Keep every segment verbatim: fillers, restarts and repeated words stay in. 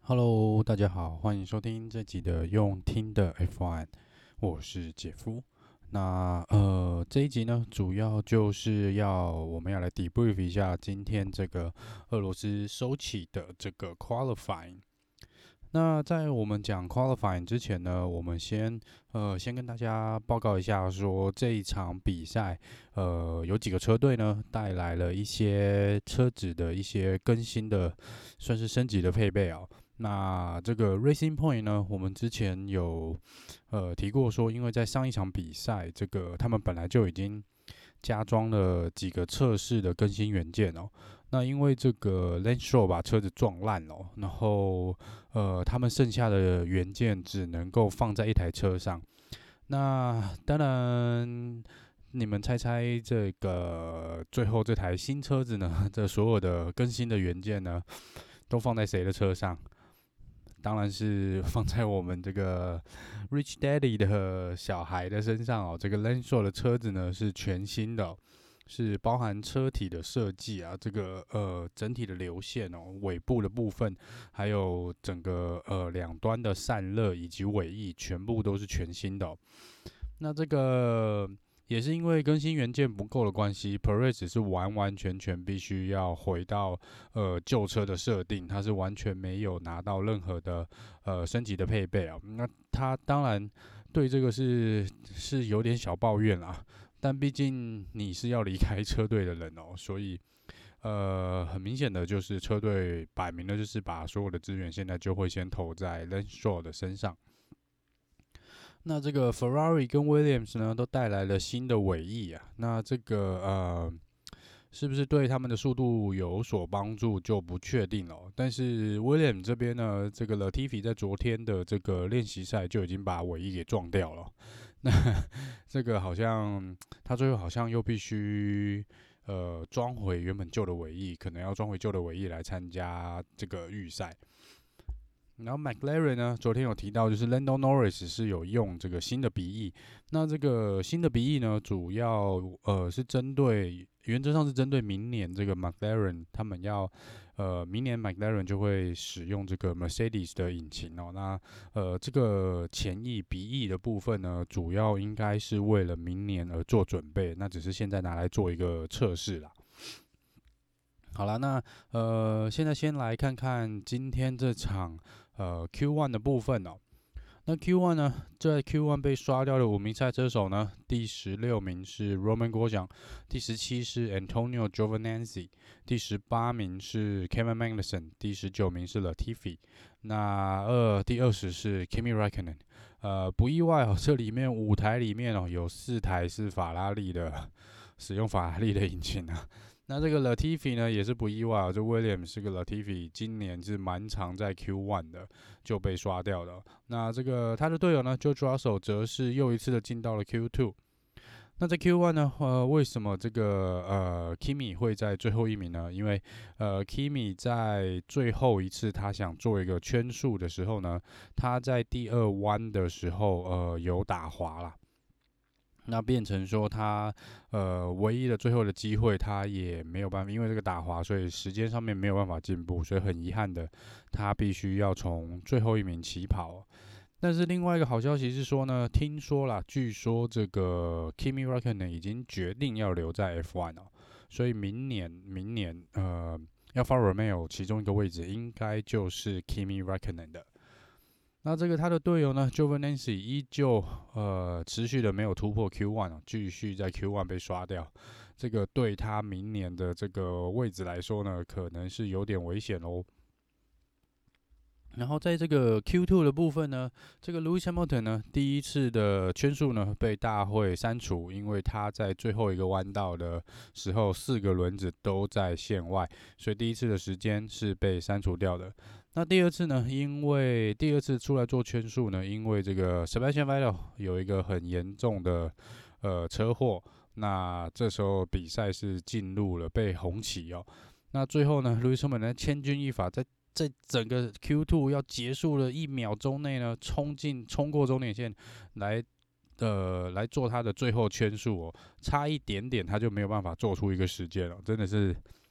Hello，大家好，歡迎收聽這集的用聽的 F 一，我是傑夫。那呃這一集呢，主要就是要我們要來 debrief 一下今天這個俄羅斯收起的這個 qualifying。那在我們講 qualifying 之前呢，我們先呃先跟大家報告一下說，說這一場比賽呃有幾個車隊呢帶來了一些車子的一些更新的，算是升級的配備哦。那這個 Racing Point 呢，我們之前有呃提過說，因為在上一場比賽，這個他們本來就已經加裝了幾個測試的更新元件哦。那因為這個 Lance Stroll 把車子撞爛了，然後呃他們剩下的元件只能夠放在一台車上。那當然，你們猜猜這個最後這台新車子呢，這所有的更新的元件呢，都放在誰的車上？當然是放在我們這個 Rich Daddy 的小孩的身上哦。這個 Lance Stroll 的車子呢是全新的哦，是包含車體的設計啊，這個呃整體的流線哦，尾部的部分，還有整個呃兩端的散熱以及尾翼，全部都是全新的哦。那這個也是因為更新元件不夠的關係 Perez 是完完全全必須要回到呃舊車的設定，它是完全沒有拿到任何的呃升級的配備啊。那他當然對這個是是有點小抱怨啦，但畢竟你是要離開車隊的人哦，所以呃很明顯的就是車隊擺明了就是把所有的資源現在就會先投在 Lance Stroll 的身上。那這個 Ferrari 跟 Williams 呢，都帶來了新的尾翼啊。那這個呃，是不是對他們的速度有所幫助就不確定了。但是 Williams 這邊呢，這個 Latifi 在昨天的這個練習賽就已經把尾翼給撞掉了。那這個好像他最後好像又必須呃裝回原本舊的尾翼，可能要裝回舊的尾翼來參加這個預賽。然後 McLaren 呢，昨天有提到，就是 Lando Norris 是有用這個新的鼻翼。那這個新的鼻翼呢，主要呃是針對，原則上是針對明年這個 McLaren 他們要呃明年 McLaren 就會使用這個 Mercedes 的引擎哦。那呃這個前翼鼻翼的部分呢，主要應該是為了明年而做準備，那只是現在拿來做一個測試啦。好了，那呃，現在先來看看今天這場呃 Q 一 的部分哦。那 Q 一 呢，在 Q 一 被刷掉的五名賽車手呢，第十六名是 Romain Grosjean， 第十七是 Antonio Giovinazzi， 第十八名是 Kevin Magnussen， 第十九名是 Latifi， 那呃第二十是 Kimi Räikkönen。呃，不意外哦，這裡面五台裡面哦，有四台是法拉利的，使用法拉利的引擎啊。那這個 Latifi 呢也是不意外，這 Williams 這個 Latifi 今年是蠻常在 Q 一 的就被刷掉的。那這個他的隊友呢 George Russell 則是又一次的進到了 Q 二。那在 Q 一 呢，呃，為什麼這個呃 Kimi 會在最後一名呢？因為呃 Kimi 在最後一次他想做一個圈速的時候呢，他在第二彎的時候呃有打滑啦。那變成說他呃唯一的最後的機會，他也沒有辦法，因為這個打滑，所以時間上面沒有辦法進步，所以很遺憾的，他必須要從最後一名起跑。但是另外一個好消息是說呢，聽說啦，據說這個 Kimi Räikkönen 已經決定要留在 F 一 哦，所以明年明年呃 Alfa Romeo 其中一個位置應該就是 Kimi Räikkönen 的。那這個他的隊友呢 Giovinazzi 依舊呃持續的沒有突破 Q 一 啊，繼續在 Q 一 被刷掉，這個對他明年的這個位置來說呢，可能是有點危險哦。然後在這個 Q 二 的部分呢，這個 Lewis Hamilton 呢第一次的圈數呢被大會刪除，因為他在最後一個彎道的時候四個輪子都在線外，所以第一次的時間是被刪除掉的。那第二次呢，因為第二次出來做圈數呢，因為這個 Sebastian Vettel 有一個很嚴重的呃車禍，那這時候比賽是進入了被紅旗哦。那最後呢 Lewis Hamilton 千鈞一髮，在在整個 Q 二 要結束的一秒鐘內呢，衝進衝過終點線來呃來做他的最後圈數哦，差一點點他就沒有辦法做出一個時間了，真的是。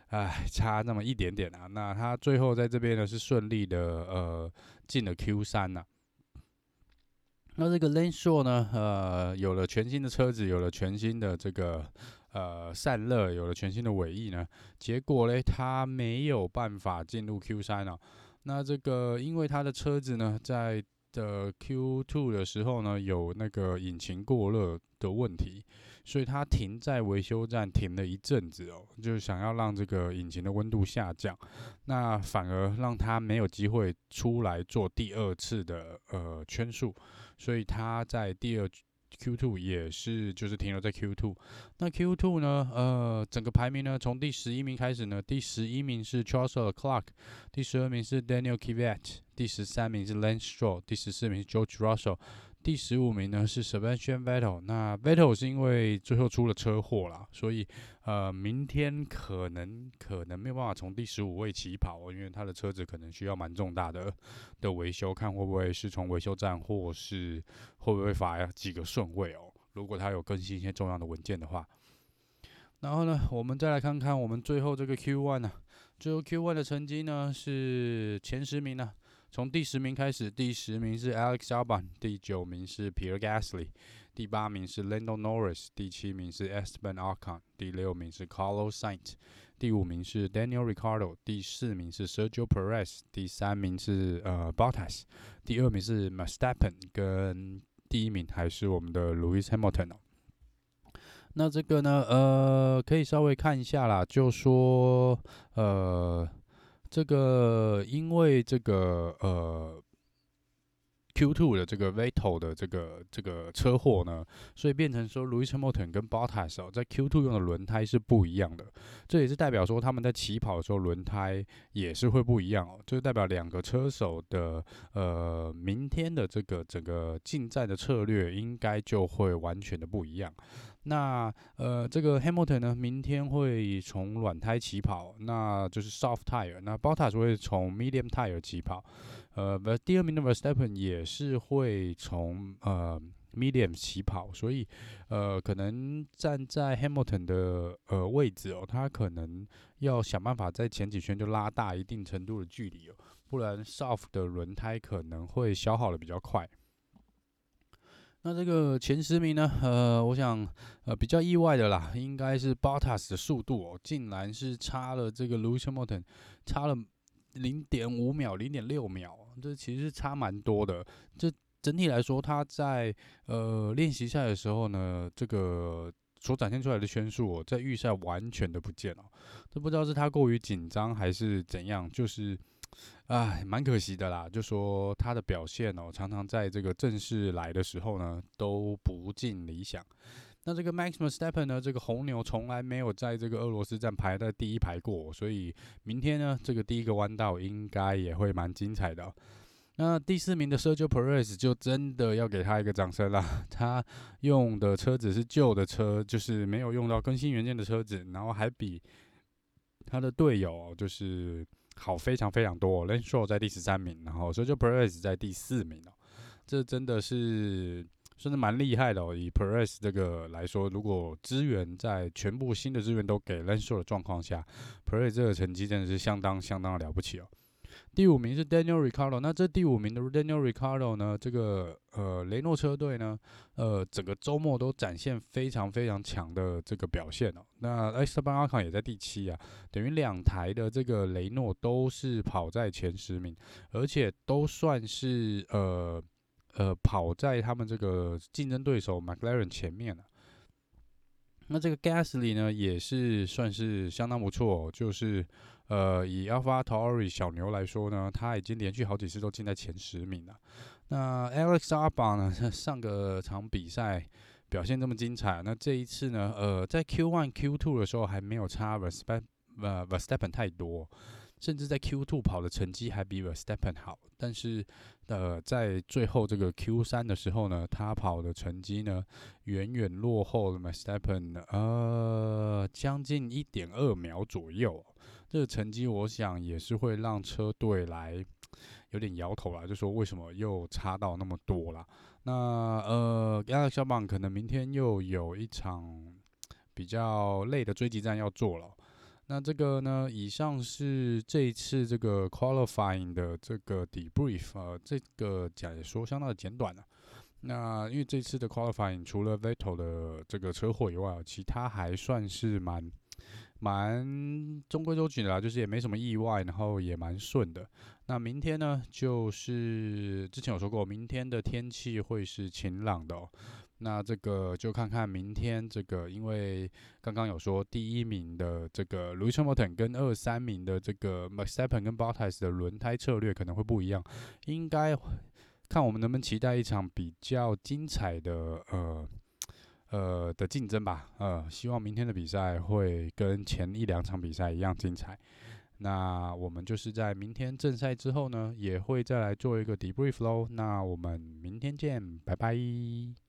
哎，差那麼一點點啊。那他最後在這邊呢是順利的呃進了 Q 三吶。那這個 Lance Stroll 呢，呃，有了全新的車子，有了全新的這個呃散熱，有了全新的尾翼呢，結果呢，他沒有辦法進入 Q 三啊。那這個因為他的車子呢，在的 Q 二 的時候呢，有那個引擎過熱的問題，所以他停在維修站停了一陣子哦，就是想要讓這個引擎的溫度下降，那反而讓他沒有機會出來做第二次的呃圈速，所以他在第二 Q 二 也是就是停留在 Q 二。那 Q 二 呢，呃，整個排名呢，從第十一名開始呢，第十一名是 Charles Leclerc， 第十二名是 Daniel Kvyat， 第十三名是 Lance Stroll， 第十四名是 George Russell， 第十五名呢是 Sebastian Vettel。那 Vettel 是因為最後出了車禍啦，所以呃，明天可能可能沒有辦法從第十五位起跑，因為他的車子可能需要蠻重大的的維修，看會不會是從維修站，或是會不會罰幾個順位哦。如果他有更新一些重要的文件的話，然後呢，我們再來看看我們最後這個 Q 一 呢，最後 Q 一 的成績呢是前十名呢，從第十名開始，第十名是 Alex Albon， 第九名是 Pierre Gasly， 第八名是 Lando Norris， 第七名是 Esteban Ocon， 第六名是 Carlos Sainz， 第五名是 Daniel Ricciardo， 第四名是 Sergio Perez， 第三名是呃 Bottas， 第二名是 Verstappen， 跟第一名還是我們的 Lewis Hamilton 哦。那這個呢，呃，可以稍微看一下啦，就說，呃，這個因為這個呃 Q 二 的這個 Vettel 的這個這個車禍呢，所以變成說 Lewis Hamilton 跟 Bottas 哦，在 Q 二 用的輪胎是不一樣的，這也是代表說他們在起跑的時候輪胎也是會不一樣哦，就是代表兩個車手的呃明天的這個整個進站的策略應該就會完全的不一樣。那呃，這個 Hamilton 呢，明天會從軟胎起跑，那就是 soft tire。那 Bottas 會從 medium tire 起跑。呃，第二名的 Verstappen 也是會從呃 medium 起跑，所以呃，可能站在 Hamilton 的呃位置哦，他可能要想辦法在前幾圈就拉大一定程度的距離哦，不然 soft 的輪胎可能會消耗的比較快。那這個前十名呢，呃，我想，呃，比較意外的啦，應該是 Bottas 的速度哦，竟然是差了這個 Lewis Hamilton， 差了零點五秒、零點六秒，這其實是差蠻多的。這整體來說，他在呃練習賽的時候呢，這個所展現出來的圈數哦，在預賽完全的不見了。這不知道是他過於緊張還是怎樣，就是。唉，蠻可惜的啦。就說他的表現哦，常常在這個正式來的時候呢，都不盡理想。那這個 Max Verstappen 呢，這個紅牛從來沒有在這個俄羅斯站排在第一排過，所以明天呢，這個第一個彎道應該也會蠻精彩的哦。那第四名的 Sergio Perez 就真的要給他一個掌聲啦。他用的車子是舊的車，就是沒有用到更新元件的車子，然後還比他的隊友就是。好，非常非常多。Lance Stroll 在第十三名，然後 Sergio Perez 在第四名哦，這真的是算是蠻厲害的哦。以 Perez 這個來說，如果資源在全部新的資源都給 Lance Stroll 的狀況下 ，Perez 這個成績真的是相當相當的了不起哦。第五名是 Daniel Ricciardo， 那這第五名的 Daniel Ricciardo 呢，這個呃雷諾車隊呢，呃整個周末都展現非常非常強的這個表現哦。那 Esteban Ocon 也在第七啊，等於兩台的這個雷諾都是跑在前十名，而且都算是呃呃跑在他們這個競爭對手 McLaren 前面了。那這個 Gasly 呢，也是算是相當不錯哦，就是呃以 AlphaTauri 小牛來說呢，他已經連續好幾次都進在前十名了。那 Alex Albon 呢，上個場比賽表現這麼精彩，那這一次呢，呃在 Q 一 Q 二 的時候還沒有差 Verstappen 呃 Verstappen 太多，甚至在 Q 二 跑的成績還比 Verstappen 好，但是呃，在最後這個 Q 三 的時候呢，他跑的成績呢，遠遠落後了 Verstappen 呃，將近 一點二秒左右。這個成績我想也是會讓車隊來有點搖頭啦，就說為什麼又差到那麼多啦？那呃 Alex Albon 可能明天又有一場比較累的追擊戰要做了。 那這個呢，以上是這一次這個 qualifying 的這個 debrief，呃，這個解說相當的簡短了、啊。那因為這次的 qualifying 除了 Vettel 的這個車禍以外，其他還算是蠻蠻中規中矩的啦，就是也沒什麼意外，然後也蠻順的。那明天呢，就是之前有說過，明天的天氣會是晴朗的哦。那這個就看看明天這個，因為剛剛有說第一名的這個 Lewis Hamilton 跟二三名的這個 Verstappen 跟 Bottas 的輪胎策略可能會不一樣，應該看我們能不能期待一場比較精彩的呃呃的競爭吧。呃，希望明天的比賽會跟前一兩場比賽一樣精彩。那我們就是在明天正賽之後呢，也會再來做一個 debrief 咯。那我們明天見，拜拜。